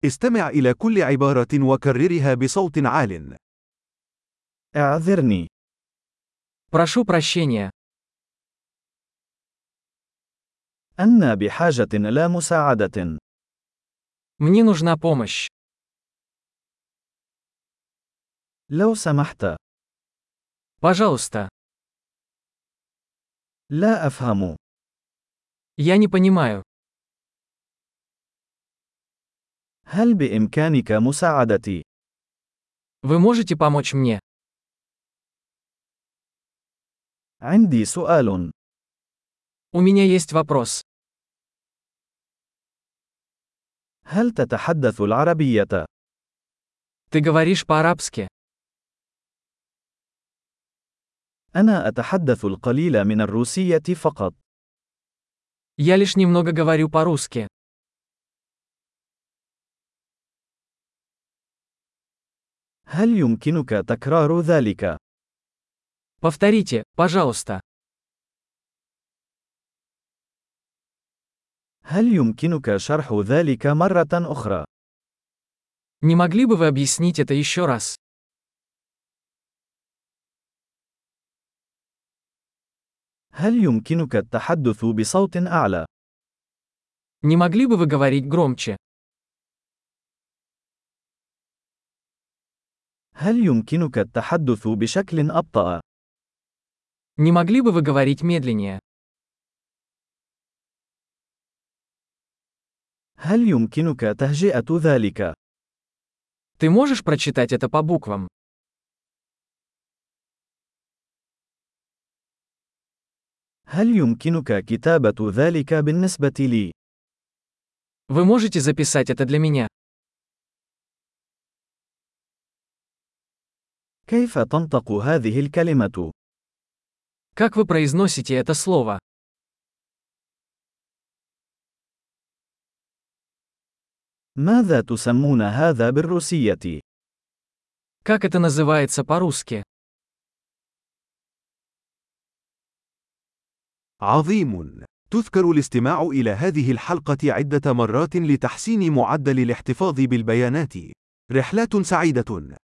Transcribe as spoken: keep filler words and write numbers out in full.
استمع إلى كل عبارة وكررها بصوت عال. اعذرني. Прошу прощения. أنا بحاجة إلى مساعدة. Мне нужна помощь. لو سمحت. Пожалуйста. لا أفهم. Я не понимаю. هل بإمكانك مساعدتي؟ Вы можете помочь мне? عندي سؤال. У меня есть вопрос. هل تتحدث العربية؟ Ты говоришь по-арабски? أنا أتحدث القليل من الروسية فقط. Я лишь немного говорю по-русски. هل يمكنك تكرار ذلك؟ Повторите, пожалуйста. هل يمكنك شرح ذلك مرة أخرى؟ Не могли бы вы объяснить это еще раз? هل يمكنك التحدث بصوت أعلى؟ Не могли бы вы говорить громче? هل يمكنك التحدث بشكل أبطأ؟ Не могли бы вы говорить медленнее? هل يمكنك تهجئة ذلك؟ Ты можешь прочитать это по буквам? هل يمكنك كتابة ذلك بالنسبة لي؟ Вы можете записать это для меня? كيف تنطق هذه الكلمة؟ Как вы произносите это слово? ماذا تسمون هذا بالروسية؟ Как это называется по-русски? عظيم. تذكر الاستماع إلى هذه الحلقة عدة مرات لتحسين معدل الاحتفاظ بالبيانات. رحلات سعيدة.